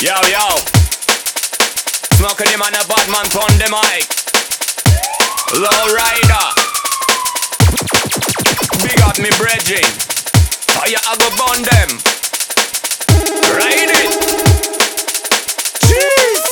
Yo, yo. Smoking him on a bad man on the mic. Low rider. Big up me brethren. Fire I go burn them. Ride it. Jeez.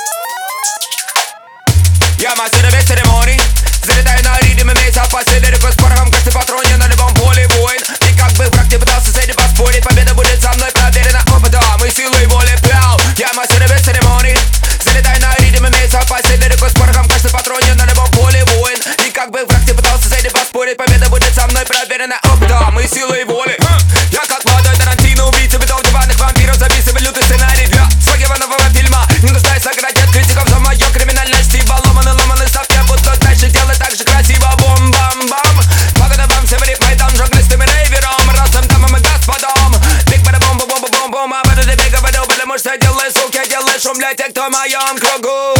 Я мастер без церемоний. Залетаю на ритм, имеет запасы лирикус. Порохом каждый патрон, я на любом поле воин. И как бы враг не пытался с этим поспорить, победа будет за мной проверена опытом и силой воли плял. Я мастер без церемоний. Залетаю на ритм, имеет запасы лирикус. Порохом каждый патрон, я на любом поле воин. И как бы враг не пытался с этим поспорить, победа будет за мной проверена опытом и силой воли. Я как молодой Тарантино, убийца бедов, диванных вампиров. Записываю лютый сценарий для своего нового фильма. Не нуждаюсь наградить критиков за мою криминальность. Ибо ломаный став, я буду дальше делать так же красиво. Бум-бам-бам. Погода вам северит майдан, журналистами рейвером, разным дамам и господам. Биг бада бум бум бум бум бум. А бада бега бада, потому что делаю, суки, делаю шум для тех, кто в моем кругу.